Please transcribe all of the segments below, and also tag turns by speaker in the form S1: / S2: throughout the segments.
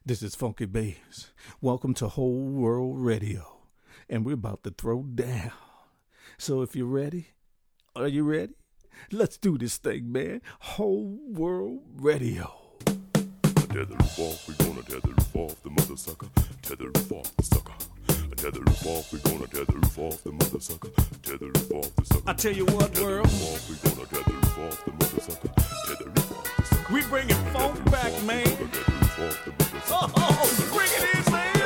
S1: This is Funky Bass. Welcome to Whole World Radio. And we're about to throw down. So if you're ready, are you ready? Let's do this thing, man. Whole World Radio.
S2: Tether roof off, we gonna tether roof off the mother sucker. Tether roof off the sucker. Tether roof off, we gonna tether roof off the mother sucker. Tether roof off the sucker.
S1: I tell you what,
S2: tether
S1: world.
S2: Roof off, we gonna tether roof off the mother sucker. Tether roof off the sucker.
S1: We bringing funk back, man.
S2: Tether roof off the mother sucker.
S1: Oh, bring it in, man.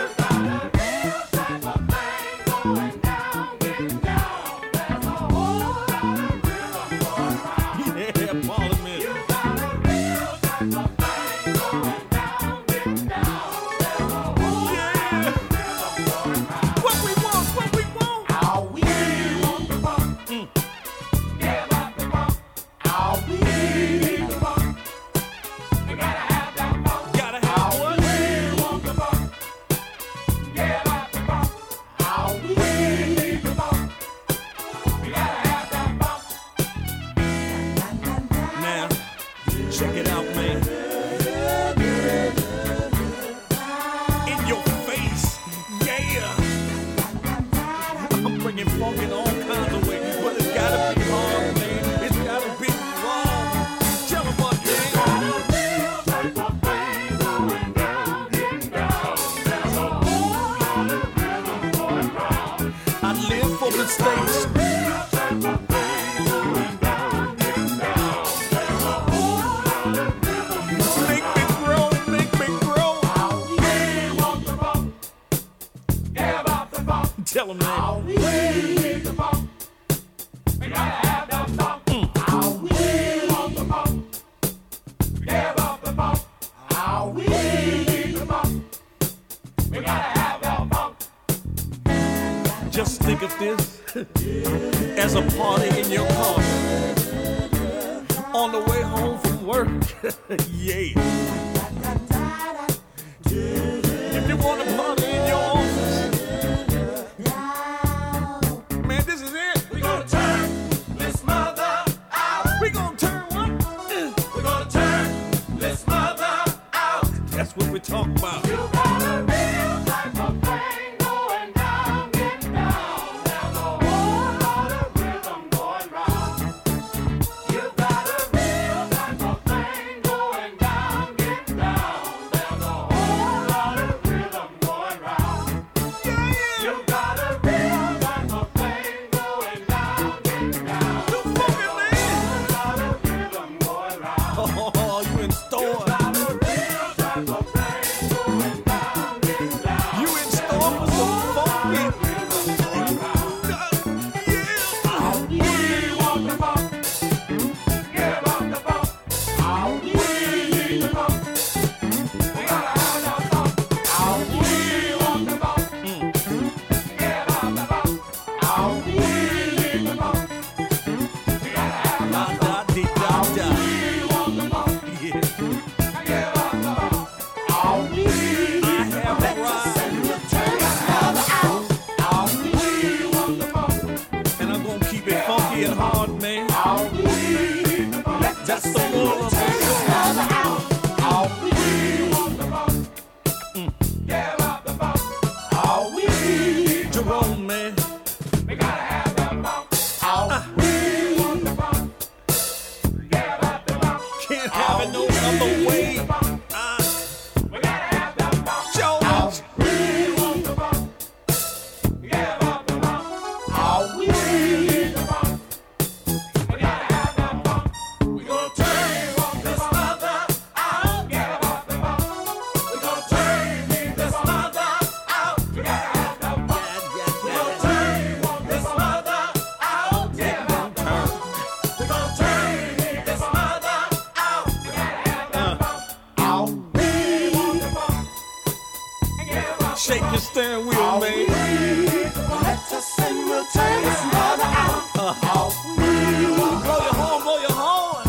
S1: Tell them that. We need the funk. We gotta have the funk. We want the funk. Give up the funk. We need the funk. We gotta have the funk. Just think of this as a party in your car on the way home from work. Yeah. If you want to party in your office, man, this is it. We're gonna turn this mother out. We're gonna turn what? We're gonna turn this mother out. That's what we're talking about. You got a real type of thing going down, getting down. There's a whole lot of rhythm going round. You got a real type of thing going down, getting down. There's a whole lot of rhythm going round. Yeah, yeah. You got a real type of thing going down, getting down. You fucking man. A lot of rhythm going round. Oh, you in store. You got a real type of thing going down, getting down. You in store for some funky rhythm going round. Yeah. We want the funk. Give up the funk. We need the funk. We gotta have the funk. We want the funk. Give up the funk. We need the funk. We gotta have the funk. We want the funk. Yeah. Give up the funk. I have a ride. We want the funk. And I'm gonna keep it funky and hard, man. That's the moral of the story. We want the funk. Give up the funk. Jerome, man. We gotta have the funk. We want the funk. Give up the funk. Can't have it no other way. We gotta have the funk. Jones. We want the funk. Give up the funk. We need the funk. We gotta have the funk. We gonna turn this mother out. Give up the funk. We gonna turn this mother out. We gotta have the funk. We gonna turn this mother out. Give up the funk. We gonna turn this mother out. We gotta have the funk. We want the funk. Give up. Shake your steering wheel, man. Let us and we'll turn this mother out. Blow your horn, blow your horn.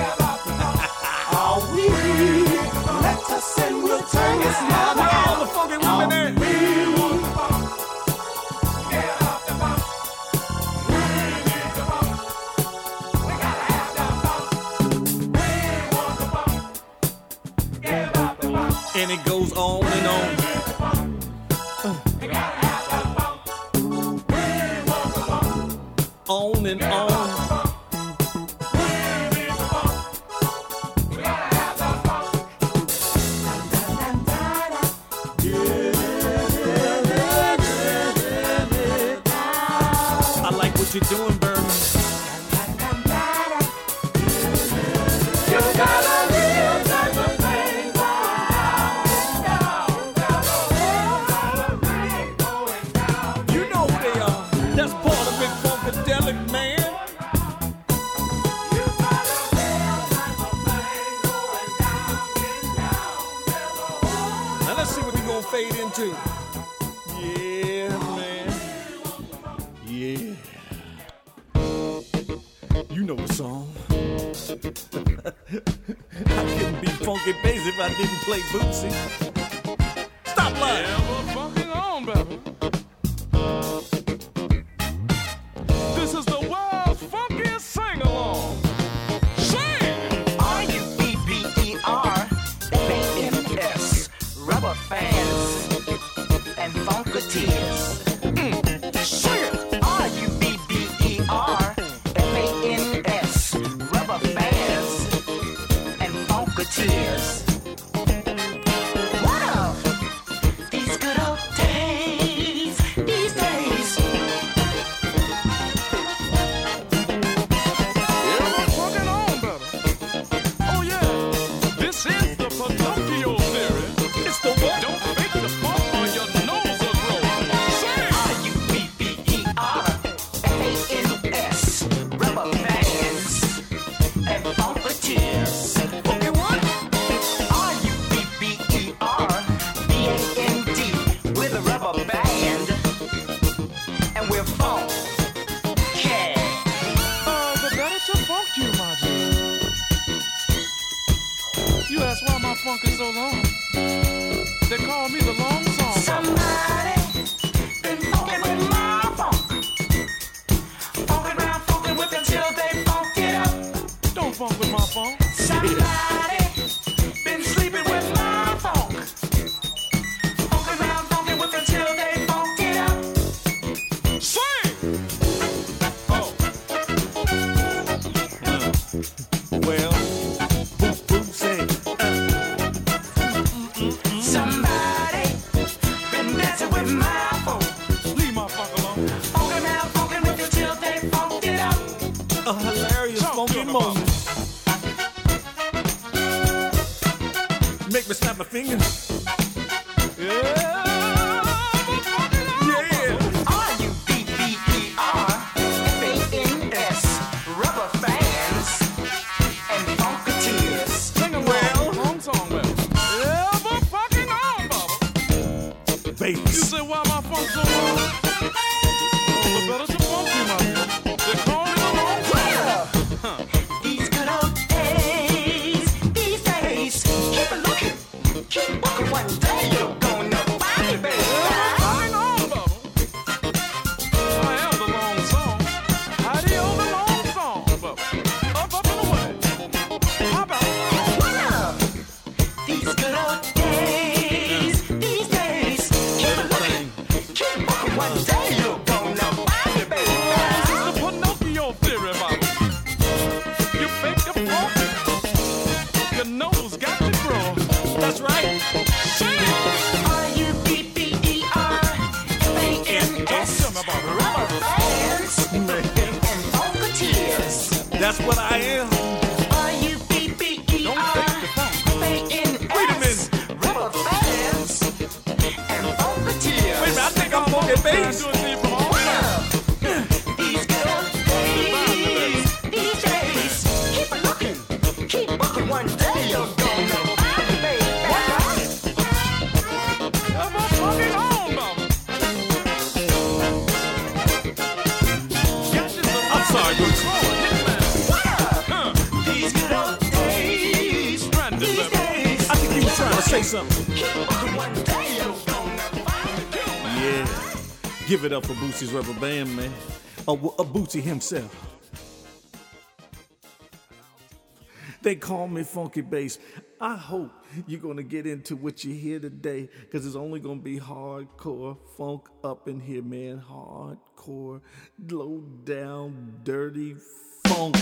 S1: Let us and we'll turn this mother out. All the funky women there. We want the funk. Give up the funk. We need the funk. We gotta have the funk. We want the funk. Give up the funk. And it goes on and on. On and on. I like what you're doing, Bernie. You got a real type of thing going down. You know who they are. That's part of Big Funkadelic, man. You got a real type of thing going down. Now let's see what we gonna fade into. Yeah, man. Yeah. You know the song. I couldn't be funky bass if I didn't play Bootsy. Stop lying.
S3: Yeah, we're fucking on, baby. This is the world's funkiest sing-along. Sing!
S4: R-U-B-B-E-R-F-A-N-S Rubber fans and Funkateers.
S3: Sing it!
S4: R-U-B-B-E-R-F-A-N-S Rubber fans and Funkateers. What up? These good old days, these days.
S3: Yeah, we're fucking on, baby. Oh, yeah. This is the Pinocchio theory.
S1: It's the what?
S3: Don't fake the funk or your nose will grow. Sing!
S4: R-U-B-B-E-R-F-A-N-S Rubber fans and Funkateers.
S1: Okay, what?
S4: R-U-B-B-E-R-B-A-N-D with a rubber band, and we're funk.
S3: The better to funk you, my dear. You ask why my funk is so long. They call me the long song.
S4: Somebody been funkin' with my funk. Funkin' round, funkin' with until they funk it up.
S3: Don't funk with my funk.
S4: Somebody been sleeping with my funk. Funkin' round, funkin' with until they funk it up.
S3: Sing! Oh,
S1: Well, Bootsy.
S4: Somebody been dancing with my funk.
S3: leave my funk alone.
S4: Funkin' round, funkin' with until they funk it up.
S1: A hilarious funky moment. Make me snap my fingers. Yeah.
S4: R-U-B-B-E-R-F-A-N-S Rubber fans and Funkateers.
S3: Sing along.
S1: Well.
S3: Long song, baby. Yeah, we're fucking on, Bubba. You
S1: Bass.
S3: say why my funk so long? The better to funk you, my dear. They call me the long song.
S4: These good old days, these days. Keep it looking, keep walking. One day you're gonna find me, baby.
S3: Hang on, Bubba. I am the long song. Howdy, oh, the long song, Bubba. Up, up, and away. How about
S4: What up? These good old days, these days. Keep it looking, keep walking. One day you're gonna find me, baby.
S3: this is the Pinocchio theory, Bubba. You fake the funk, your nose got to grow.
S1: That's right.
S3: Sing!
S4: R-U-B-B-E-R-F-A-N-S Rubber fans and Funkateers.
S1: That's what I am.
S4: R-U-B-B-E-R-F-A-N-S Rubber fans and Funkateers.
S1: Wait a minute, I think I'm funky bass.
S3: Do it to you from all
S4: These good old days, these days. Keep it looking, keep looking. One day you're gonna find me, baby.
S3: I'm fucking on, Bubba.
S1: I'm sorry, Bootsy.
S4: These good old days, these days.
S1: I think you were trying to say something.
S4: Keep looking. One day you're gonna find me.
S1: Yeah. Give it up for Bootsy's rubber band, man. A Bootsy himself. They call me Funky Bass. I hope you're going to get into what you hear today, because it's only going to be hardcore funk up in here, man. Hardcore, low down, dirty funk.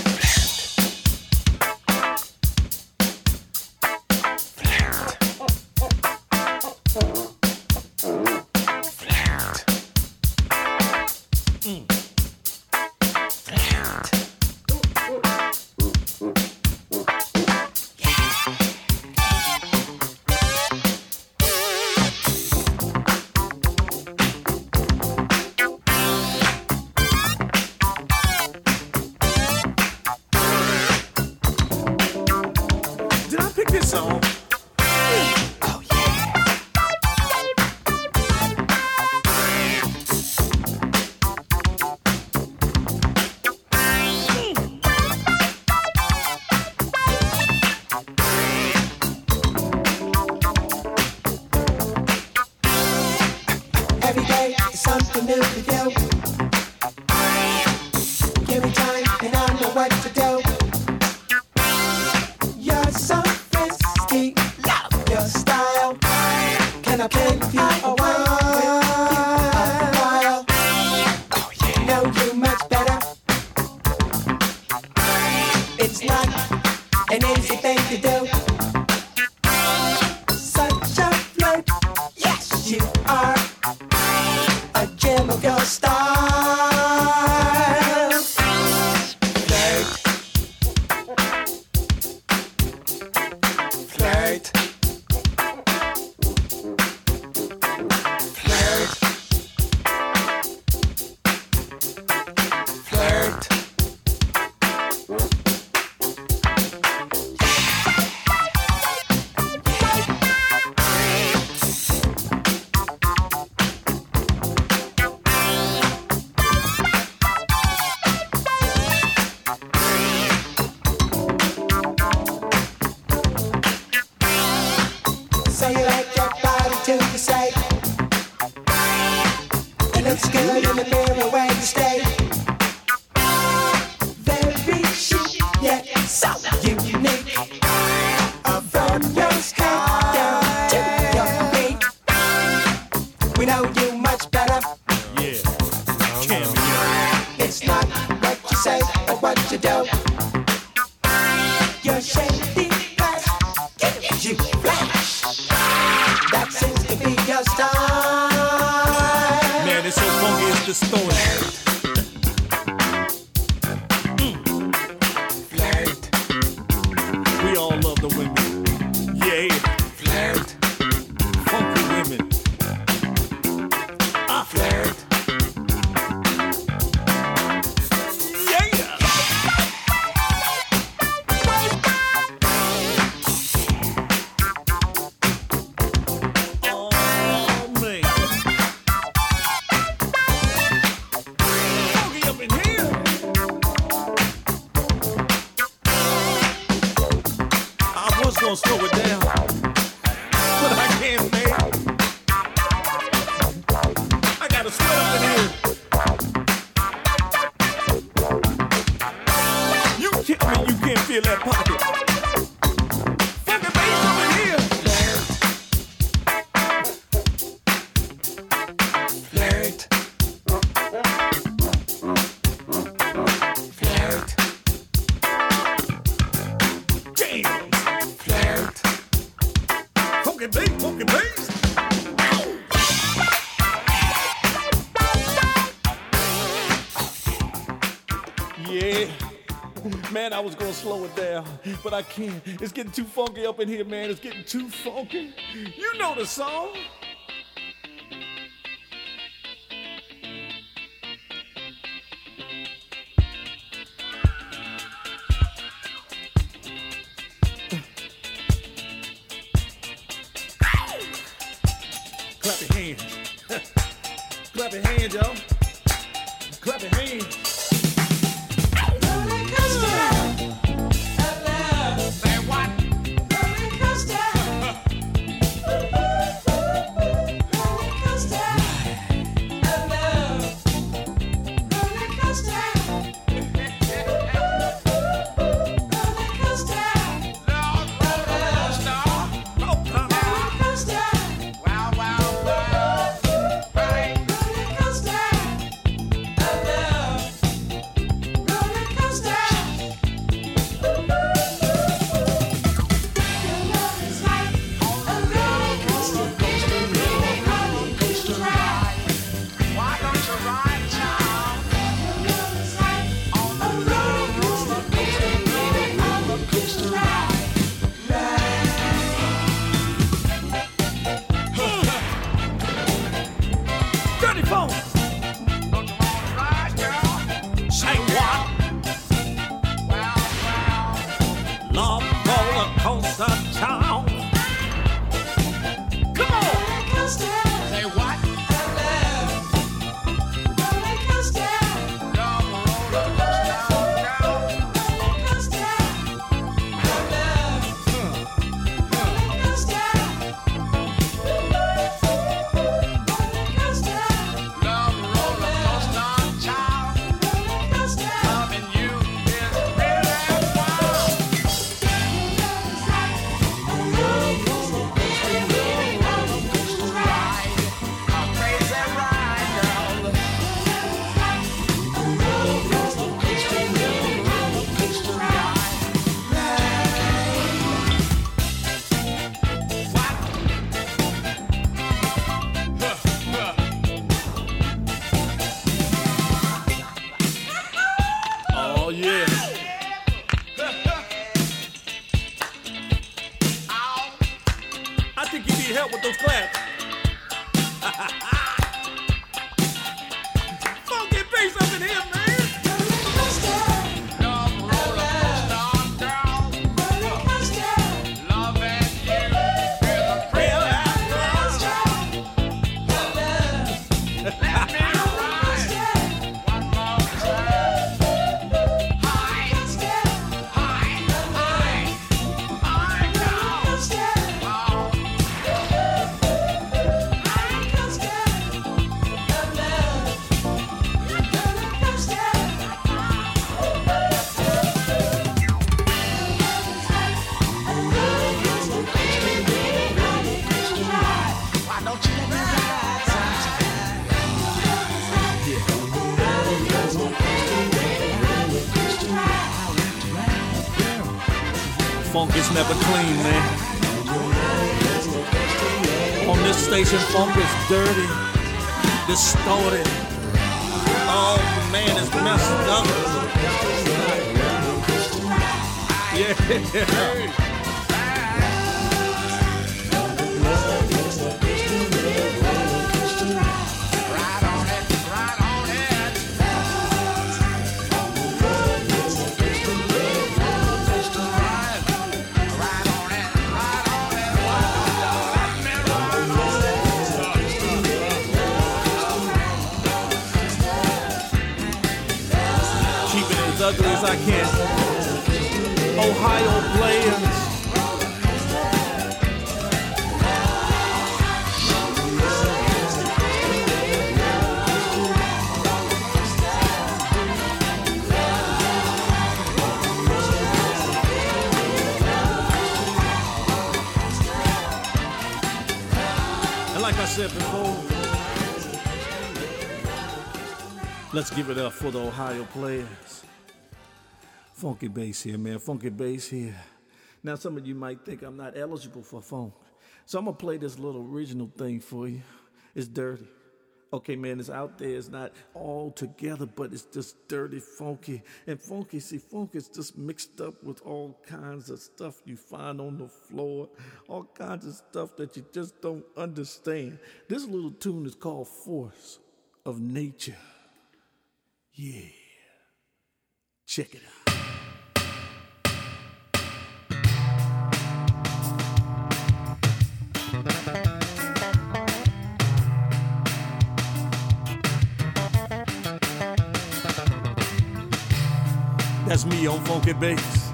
S1: I was gonna slow it down, but I can't. It's getting too funky up in here, man. It's getting too funky. You know the song. Clap your hands. Clap your hands, y'all. Clap your hands. think you need help with those claps. Funky bass up in here, man. Funk is never clean, man. On this station, funk is dirty, distorted. Oh man, it's messed up. Yeah. Ugly as I can. Ohio players. And like I said before, let's give it up for the Ohio players. Funky bass here, man. Funky bass here. Now, some of you might think I'm not eligible for funk. So I'm going to play this little original thing for you. It's dirty. Okay, man, it's out there. It's not all together, but it's just dirty, funky. And funky, see, funk is just mixed up with all kinds of stuff you find on the floor, all kinds of stuff that you just don't understand. This little tune is called Force of Nature. Yeah. Check it out. That's me on funky bass.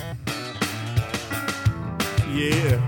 S1: Yeah.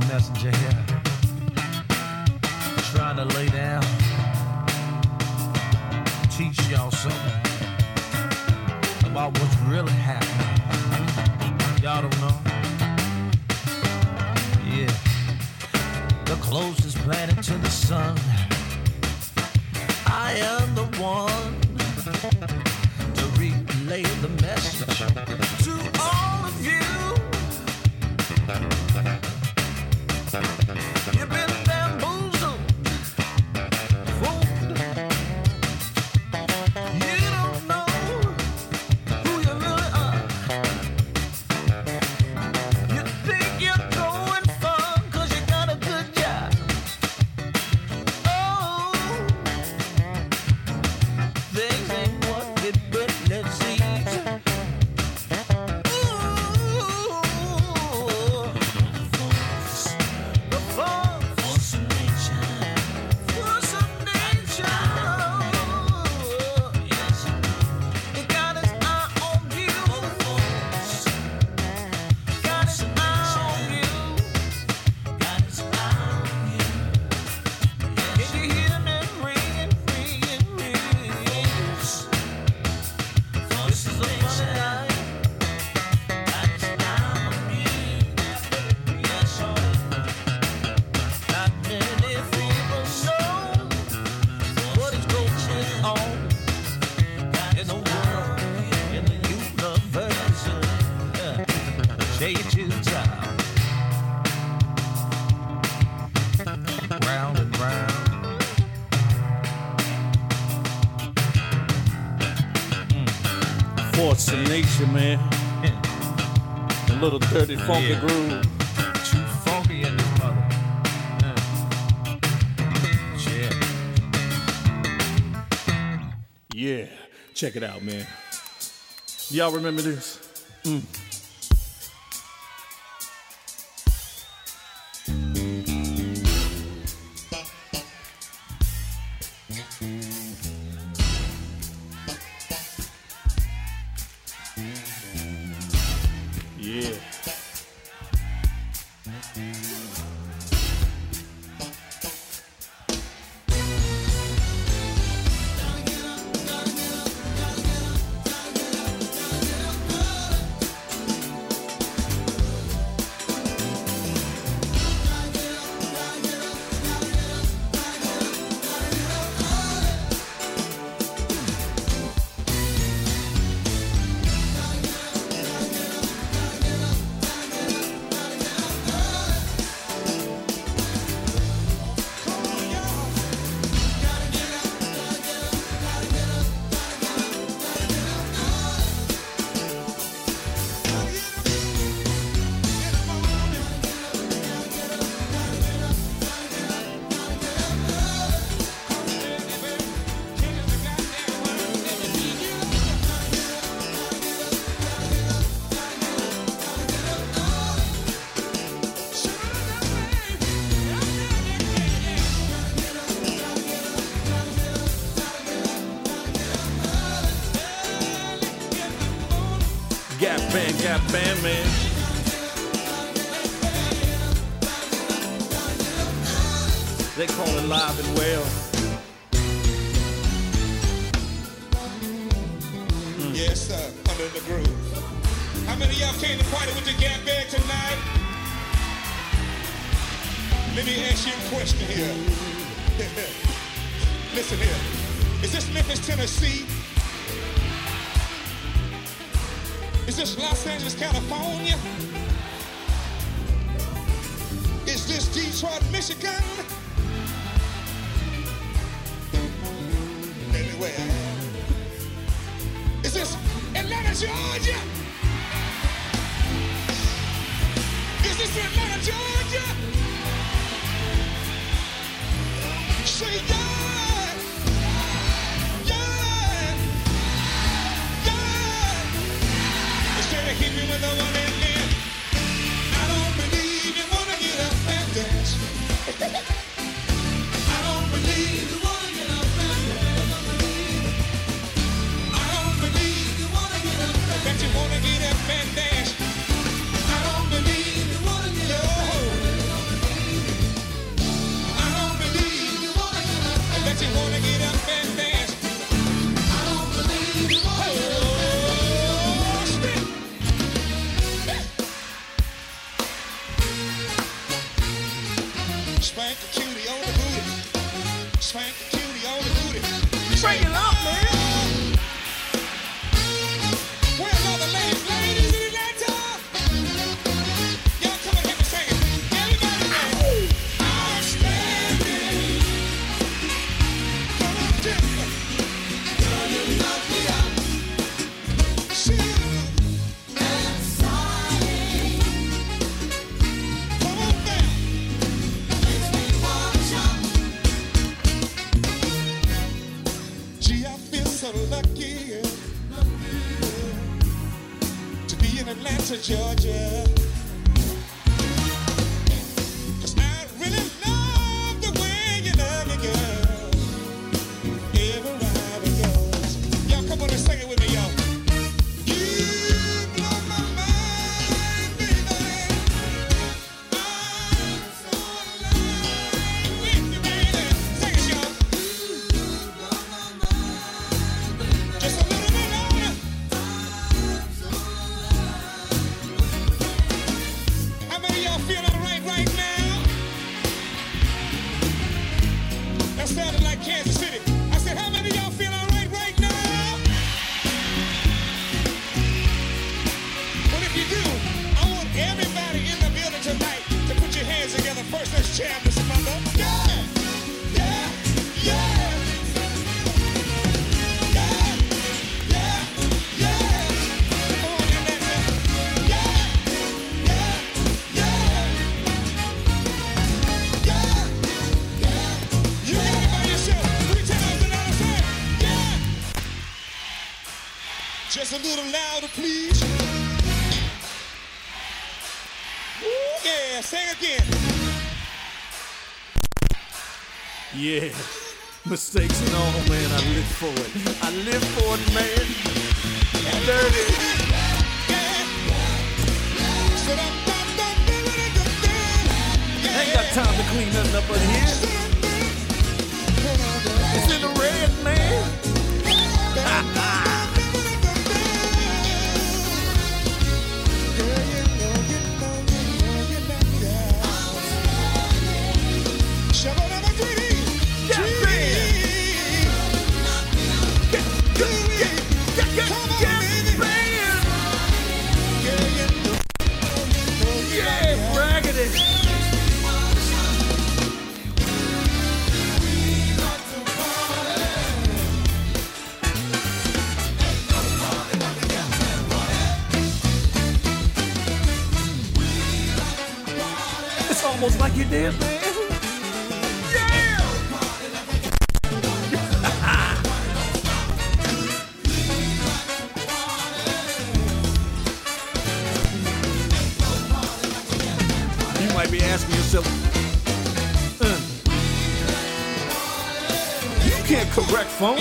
S5: messenger here, trying to lay down, teach y'all something about what's really happening. Y'all don't know? Yeah. The closest planet to the sun. I am the one to relay the message to all of you. You've been bamboozled, fooled. You don't know who you really are. You think you're going far 'cause you got a good job. Oh, things ain't what it really seems. Round and round.
S6: Force of nature, man. A little dirty, funky groove.
S5: Too funky in this mother. Yeah.
S6: Yeah, check it out, man. Y'all remember this? Yeah. Gap Band, man. They call it Live and Well.
S7: Yes, sir. Under the groove. How many of y'all came to party with the Gap Band tonight? Let me ask you a question here. Listen here. Is this Memphis, Tennessee? Is this Los Angeles, California? Is this Detroit, Michigan? Anyway, is this Atlanta, Georgia? Is this Atlanta, Georgia? Say yeah, yeah, yeah. Instead of keeping with the one in there, I don't believe you wanna get up and dance. I don't believe you wanna get up and dance. I don't believe you wanna get up and dance. That you wanna get up and dance. I don't believe you wanna get up and dance. Spank the cutie on the booty. Spank the cutie on the booty.
S3: Bring it up, man.
S7: Where's all the ladies? Ladies in Atlanta? Y'all come and help me sing it. Everybody sing. Outstanding. Come on, Jennifer. Girl, you knock me out. Come on down. Gee, I feel so lucky to be in Atlanta, Georgia. 'Cause I really love the way you love me, girl. Everywhere it goes. Y'all come on and sing it with me, y'all. You blow my mind, baby. I'm so alive with you, baby. Sing it, y'all. Just a little bit louder. How many of y'all feel alright right now? That sounded like Kansas City. I said, how many of y'all feel alright right now? Well, if you do, I want everybody in the building tonight to put your hands together. First, let's jam this mother. Yeah, yeah, yeah. Yeah, yeah, yeah. Come on, Atlanta. Yeah, yeah, yeah. Yeah, yeah. You got it by yourself. 3 times and I'll say, yeah. Just a little louder, please. Ooh, yeah, sing again.
S6: Yeah. Mistakes and all, man. I live for it. I live for it, man. Dirty. Ain't got time to clean nothing up in here. It's in the red, man. Yeah, raggedy. It's almost like you did, man. You might be asking yourself, you can't correct phone.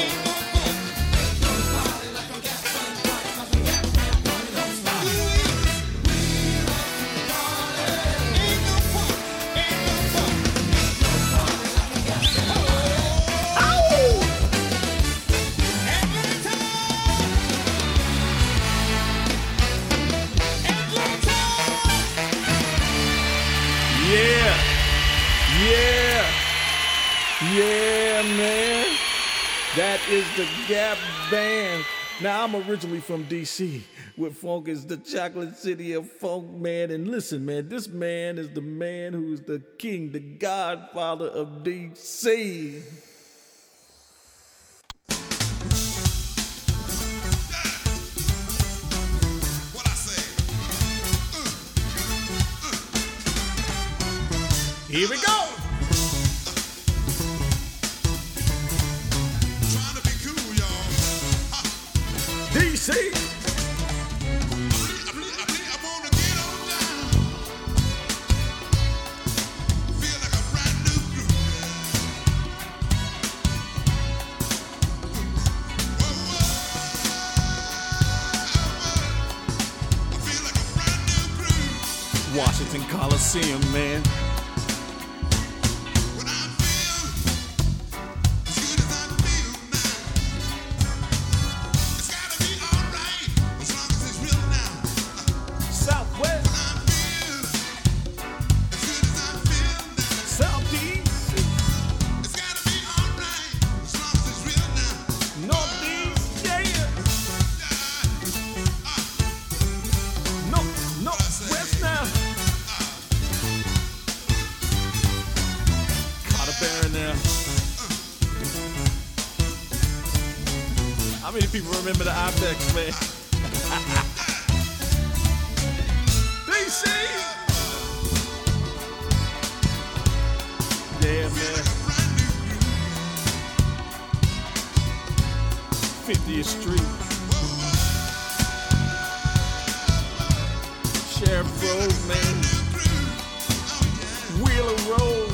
S6: Yeah, man. That is the Gap Band. Now, I'm originally from D.C., where funk is the chocolate city of funk, man. And listen, man, this man is the man who's the king, the godfather of D.C.
S7: What I say?
S6: Here we go.
S7: Trying to be cool, y'all.
S6: D.C.
S7: I wanna get on down. Feel like a brand new groove. Whoa, whoa. I feel like a brand new groove.
S6: Washington Coliseum, man.
S7: When I feel as good as I feel now, it's gotta be alright as long as it's real now.
S6: Southwest,
S7: When I feel as good as I feel now,
S6: Southeast, many people remember the Ibex, man? DC! Yeah, man. 50th Street. Sheriff Road, man. Wheeler Road.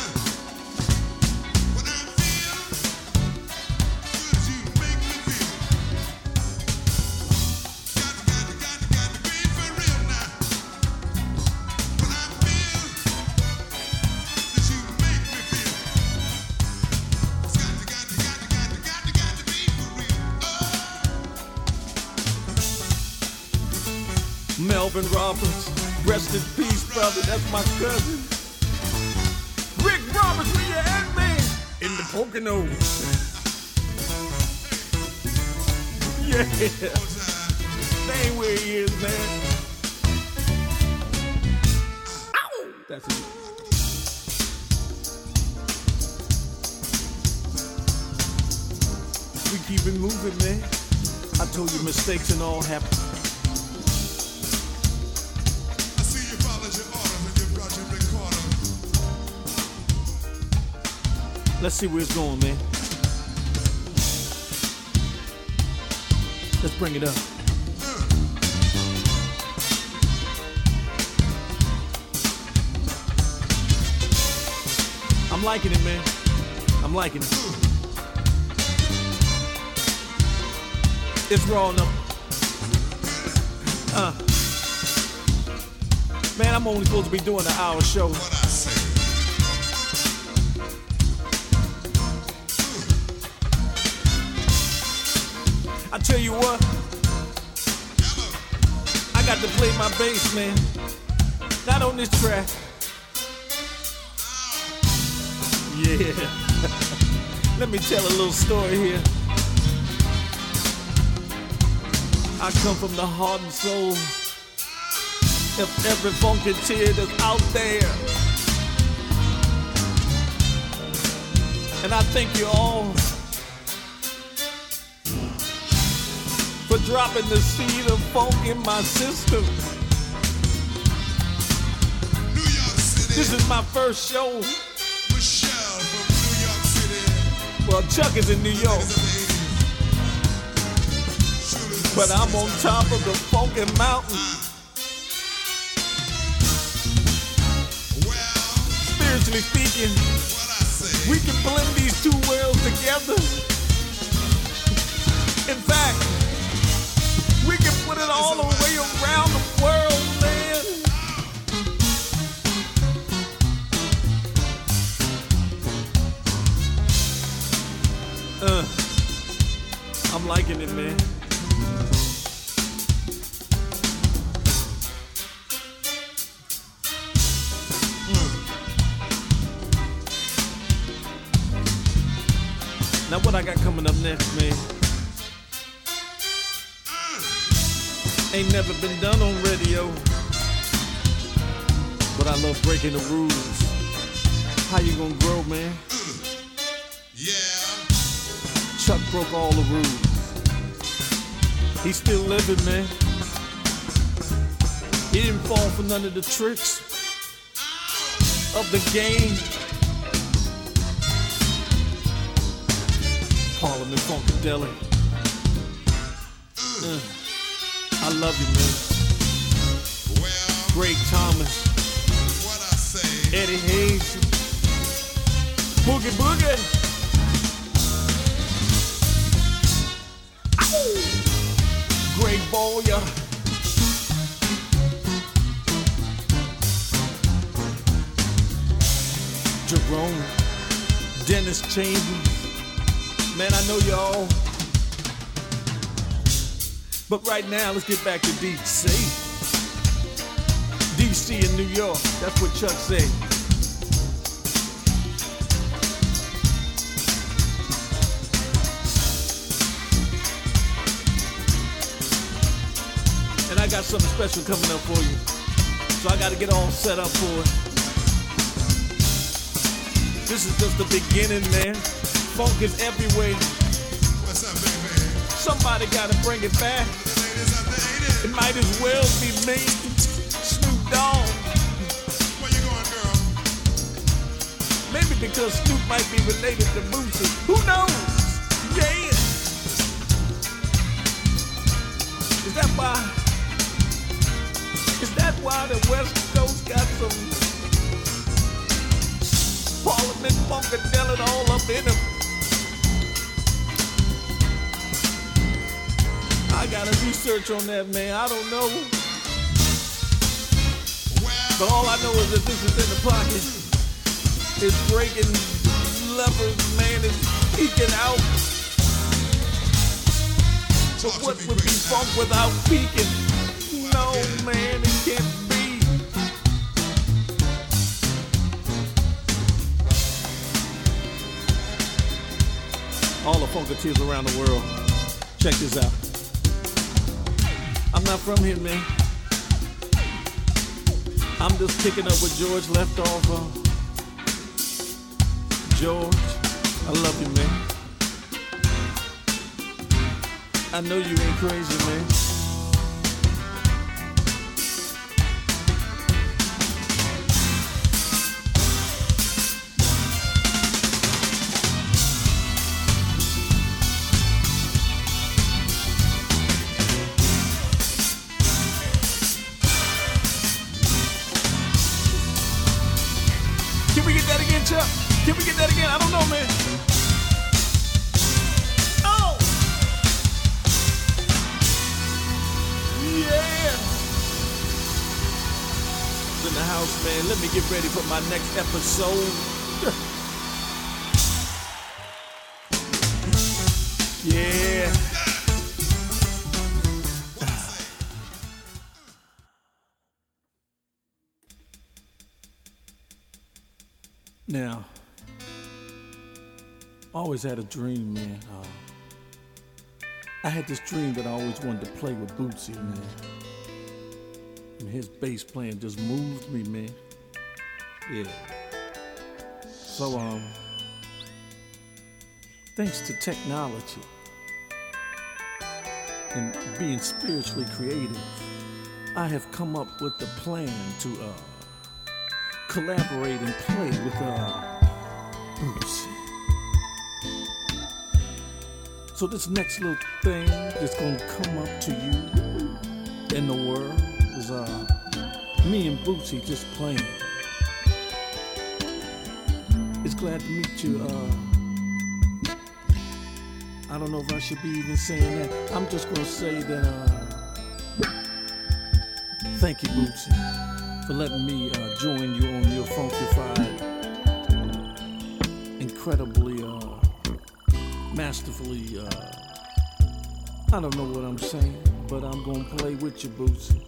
S6: Melvin Roberts, rest in peace, brother, that's my cousin. Rick Roberts, where you at, man? In the Poconos. Yeah, that ain't where he is, man. Ow! That's it. We keep it moving, man. I told you mistakes and all happen. Let's see where it's going, man. Let's bring it up. I'm liking it, man. I'm liking it. It's raw enough. Man, I'm only supposed to be doing an hour show. I tell you what, I got to play my bass, man. Not on this track. Yeah. Let me tell a little story here. I come from the heart and soul of every funky tear that's out there. And I thank you all for dropping the seed of funk in my system.
S7: New York City.
S6: This is my first show.
S7: Michelle from New York City.
S6: Well, Chuck is in New York, but I'm on top of the funky mountain.
S7: Well,
S6: Spiritually speaking,
S7: what I say.
S6: we can blend these two worlds together. In fact, we can put it all the way around the world, man. I'm liking it, man. Now what I got coming up next, man, ain't never been done on radio, but I love breaking the rules. How you gonna grow, man?
S7: Yeah.
S6: Chuck broke all the rules. He's still living, man. He didn't fall for none of the tricks of the game. Parliament Funkadelic. I love you, man.
S7: Well,
S6: Greg Thomas,
S7: what I say.
S6: Eddie Hayes, Boogie Boogie. Ow! Greg Boyer. Jerome, Dennis Chambers. Man, I know y'all. But right now, let's get back to DC. DC in New York. That's what Chuck said. And I got something special coming up for you. So I got to get all set up for it. This is just the beginning, man. Funk is everywhere.
S7: What's up, baby?
S6: Somebody gotta bring it back. It might as well be me, Snoop Dogg.
S7: Where you going, girl?
S6: Maybe because Snoop might be related to Boosie. Who knows? Yeah. Is that why the West Coast got some Parliament Funkadelic all up in them? I gotta research on that, man. I don't know. But all I know is that this is in the pocket. It's breaking levers, man. It's peeking out. But what would be funk without peeking? No, man, it can't be. All the Funketeers around the world, check this out. I'm not from here, man. I'm just picking up where George left off. George, I love you, man. I know you ain't crazy, man. Can we get that again, Chuck? Can we get that again? I don't know, man. Oh! Yeah! In the house, man. Let me get ready for my next episode. Yeah. Now, I always had a dream, man. I had this dream that I always wanted to play with Bootsy, man. And his bass playing just moved me, man. Yeah. So, thanks to technology and being spiritually creative, I have come up with the plan to, collaborate and play with Bootsy. So this next little thing that's gonna come up to you in the world is me and Bootsy just playing. It's glad to meet you. I don't know if I should be even saying that. I'm just gonna say that thank you, Bootsy, for letting me join you on your funkified, incredibly, masterfully, I don't know what I'm saying, but I'm gonna play with you, Bootsy.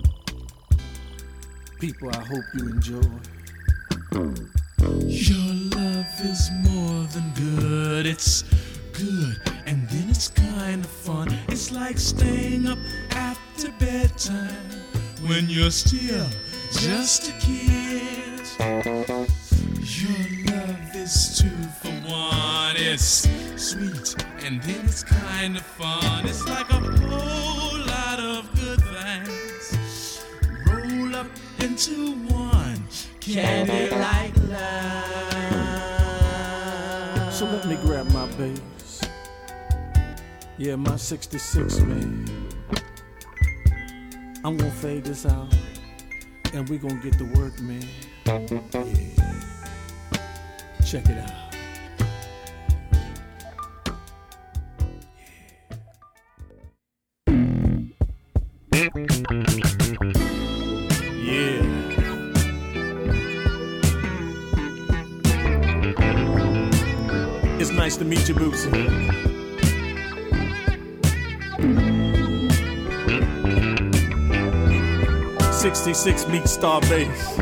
S6: People, I hope you enjoy.
S8: Your love is more than good, it's good, and then it's kind of fun. It's like staying up after bedtime when you're still just a kid. Your love is 2 for 1. It's sweet and then it's kind of fun. It's like a whole lot of good things roll up into one candy like love.
S6: So let me grab my bass. Yeah, my 66, man. I'm gonna fade this out. And we gonna get to work, man. Yeah. Check it out. Yeah. It's nice to meet you, Bootsy. 66 meets Star Bass.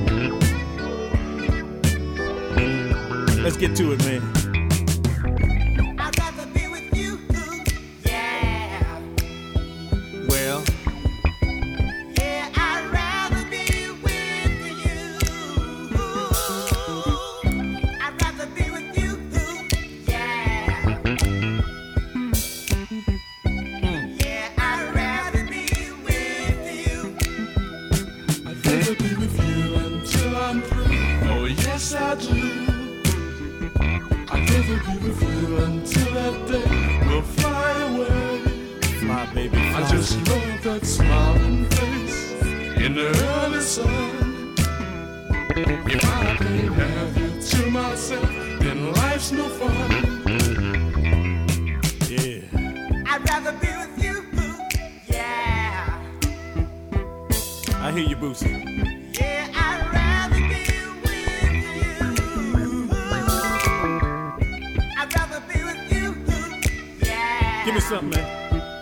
S6: Let's get to it, man.
S4: I'd rather be with you, yeah.
S6: Well,
S4: Yeah, I'd rather be with you. I'd rather be with you, yeah.
S8: never be with you until that day will fly away.
S6: Fly, baby, fly.
S8: I just love that smiling face in the early sun. If I can't have you to myself, then life's no fun.
S6: Yeah.
S4: I'd rather be with you, yeah.
S6: I hear you, Boosie.
S4: Yeah, I'd rather be with you. I'd rather be with you, yeah.
S6: Give me something, man.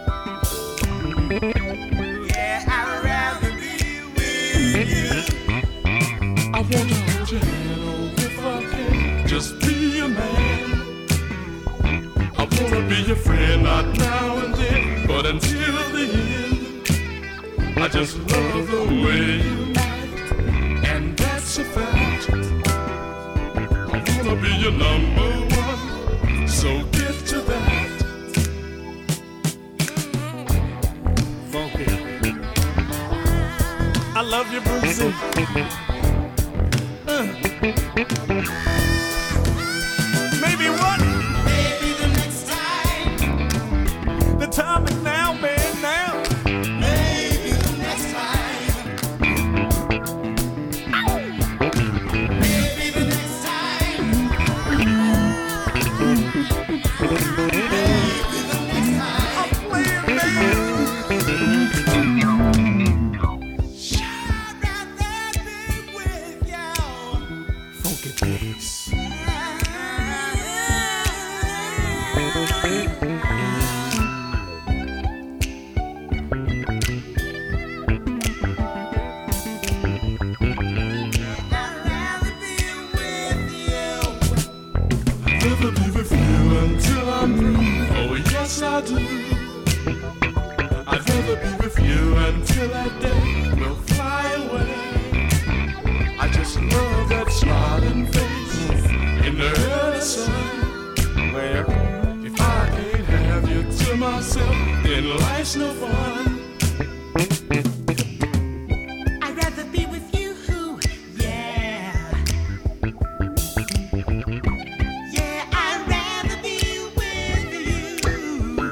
S4: Yeah, I'd rather be with you.
S8: I wanna hold your hand, oh, if I can just be a man. I wanna be your friend, not now and then, but until the end. I just love the way you act, and that's a fact. I wanna be your number one, so get to that.
S6: Funky. I love you, Boosie. Maybe what?
S4: Maybe the next time.
S6: The time is now, man, now.
S4: Maybe the next time. Maybe the next time. Maybe the next time.
S6: I'm playing, man.
S4: I'd rather be with you.
S6: Funky bass.
S8: I'd rather be with you until I'm through. Oh, yes, I do. I'd rather be with you until that day will fly away. I just love that smiling face in the early sun. Well, if I can't have you to myself, then life's no fun.
S4: I'd rather be with you, yeah. Yeah, I'd rather be with you.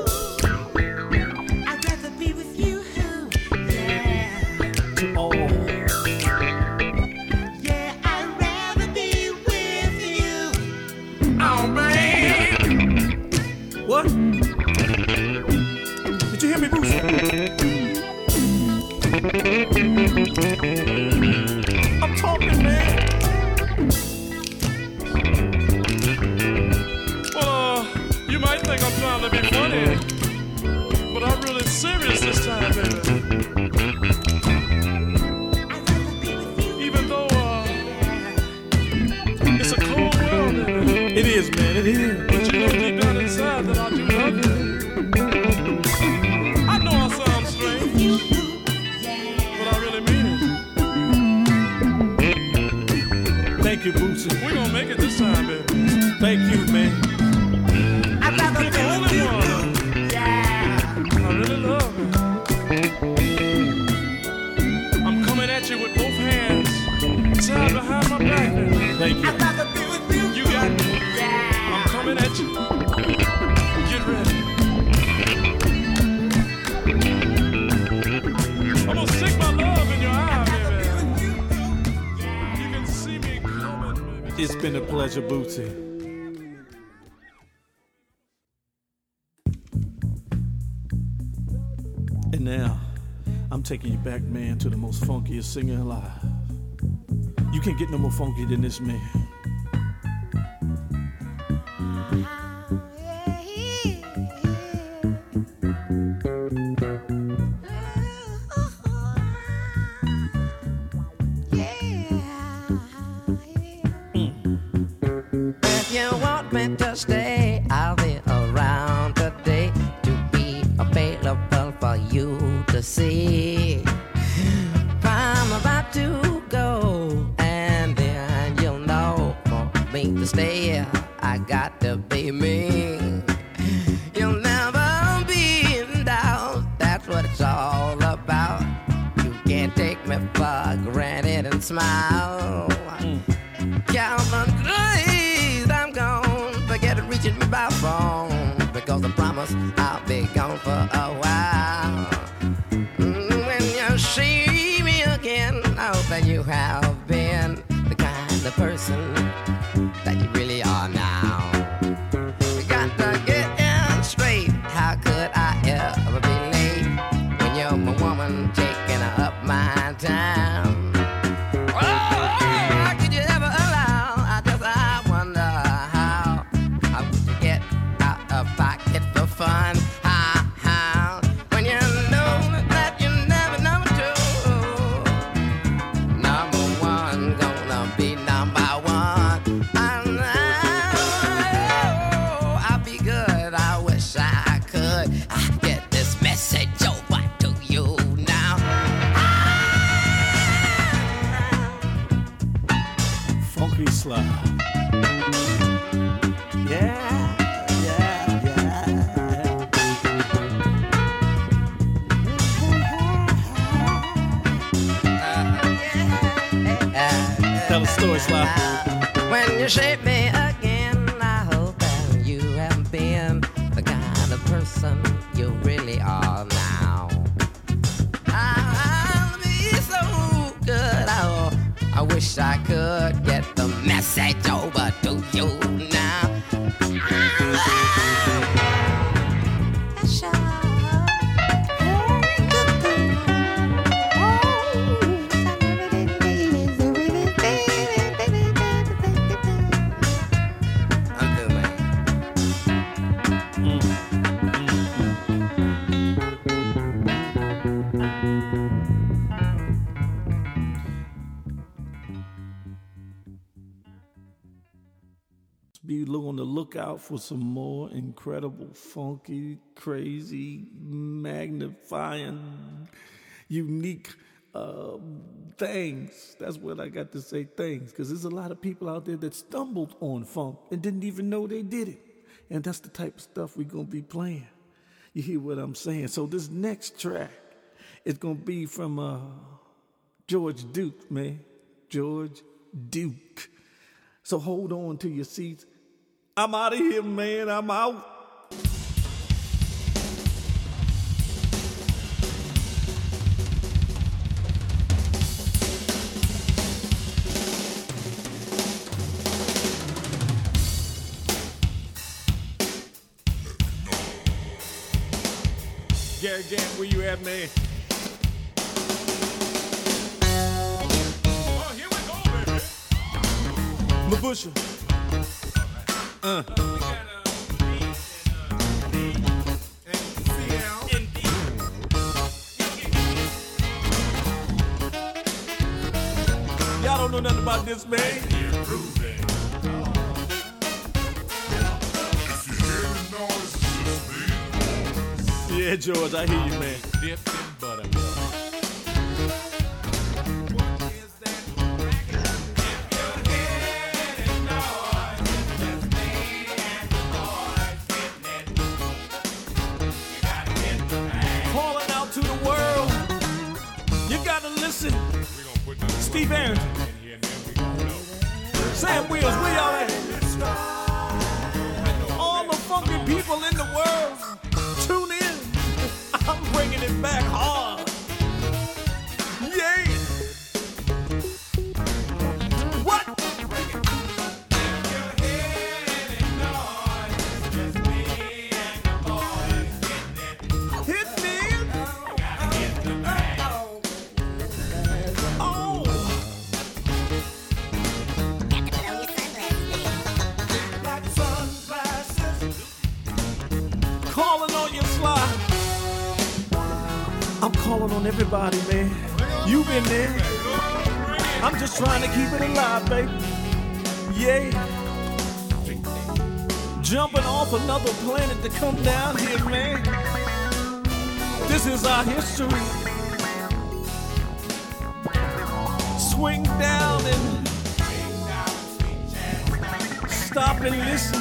S4: I'd rather be with you, yeah.
S6: Oh,
S4: Yeah, I'd rather be with you.
S8: Oh, man.
S6: what? Did you hear me, Boosie? I'm talking, man.
S3: Well, you might think I'm trying to be funny, but I'm really serious this time, baby.
S4: I'd rather be with you,
S3: Even though it's a cold world, baby.
S6: It is, man, it is.
S3: But you know deep down inside that I do love you. I know I sound strange, but I really mean it.
S6: Thank you, Boosie.
S3: We gonna make it this time, baby.
S6: Thank you, man.
S4: I'd rather
S3: You're
S4: be
S3: the
S4: with
S3: only
S4: you,
S3: one
S4: yeah.
S3: I really love. I'm coming at you with both hands tied behind my back, baby.
S6: Thank you.
S4: I'd rather be with you,
S3: You got me.
S4: yeah.
S3: I'm coming at you. Get ready. I'm gonna stick my love in your eye, baby. You can see me coming, baby.
S6: It's been a pleasure, Boosie. And now, I'm taking you back, man, to the most funkiest singer alive. You can't get no more funky than this man.
S9: If you want me to stay, I'll be around today to be available for you to see. I'm about to go, and then you'll know for me to stay, I got to be me. You'll never be in doubt, that's what it's all about. You can't take me for granted and smile. Calvin Grace, I'm gonna promise I'll be gone for a while. When you see me again, I hope that you have been the kind of person that you really are now. You got to get in straight. How could I ever be late when you're my woman taking up my time? Oh, could you ever allow? I wonder how would you get out of pocket for fun? How when you know that you never number two, number one gonna be number one. I'll be good. I wish I could get this message over to you now.
S6: Funky slide. Yeah, yeah, yeah. Tell a story, Sly.
S9: When you shape me again, I hope that you have been the kind of person you really are now. I'll be so good. I wish I could get the message over to you now.
S6: Be on the lookout for some more incredible, funky, crazy, magnifying, unique things. That's what I got to say, things, because there's a lot of people out there that stumbled on funk and didn't even know they did it. And that's the type of stuff we're going to be playing. You hear what I'm saying? So this next track is going to be from George Duke, man. George Duke. So hold on to your seats. I'm out of here, man. I'm out. Gary Gant, where you at, man?
S3: Oh, here we go, baby.
S6: Mabusha. Y'all don't know nothing about this, man. Yeah, George, I hear you, man.
S3: Dipped in buttermilk.
S6: Calling out to the world. You gotta listen. Steve Aaron. Sam Wheels, where y'all at? All the funky people in the world, tune in. I'm bringing it back hard. Yeah. What? Hit me. Oh. Calling on your slide. I'm calling on everybody, man. You been there. I'm just trying to keep it alive, baby. Yeah. Jumping off another planet to come down here, man. This is our history. Swing down and stop and listen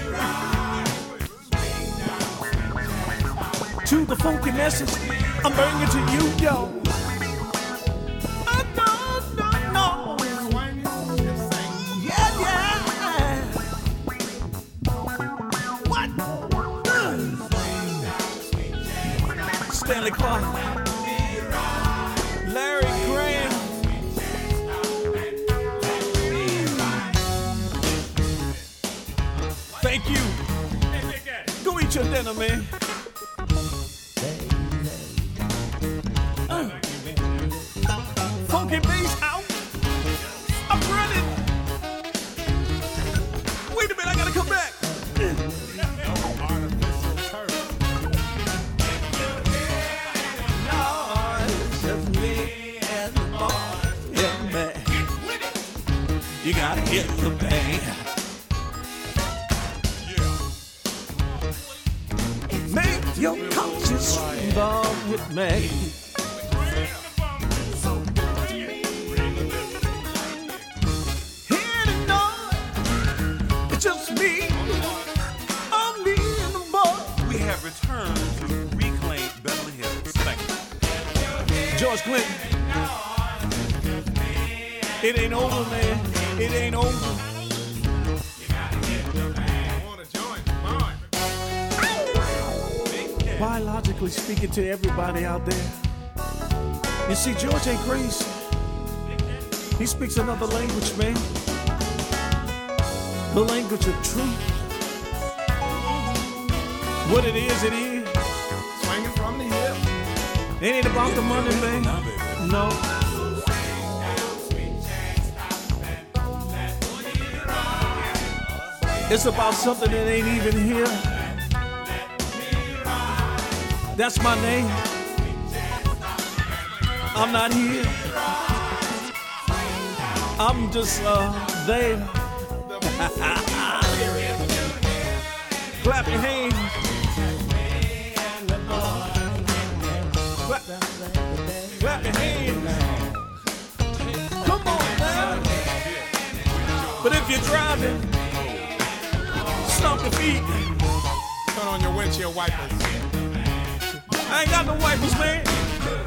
S6: to the funky message I'm bringing to you, yo. No. Yeah. What? Stanley Clark, Larry Graham. Thank you. Go eat your dinner, man. Funky bass out. I'm running. Wait a minute, I gotta come back. You gotta hit the band. Make your conscience involved with me. Hear the noise, it's just me. I'm me and the boy.
S10: We have returned to reclaim Beverly Hills. Thank you.
S6: George Clinton. It ain't over, man. It ain't over. Biologically speaking to everybody out there, you see, George ain't crazy. He speaks another language, man. The language of truth. What it is, it is.
S11: Swinging from the hip.
S6: It ain't about the money, man. No. It's about something that ain't even here. That's my name. I'm not here. I'm just there. Clap your hands. Clap your hands. Come on now. But if you're driving, stomp your feet.
S11: Turn on your windshield wipers.
S6: I ain't got no wipers, man.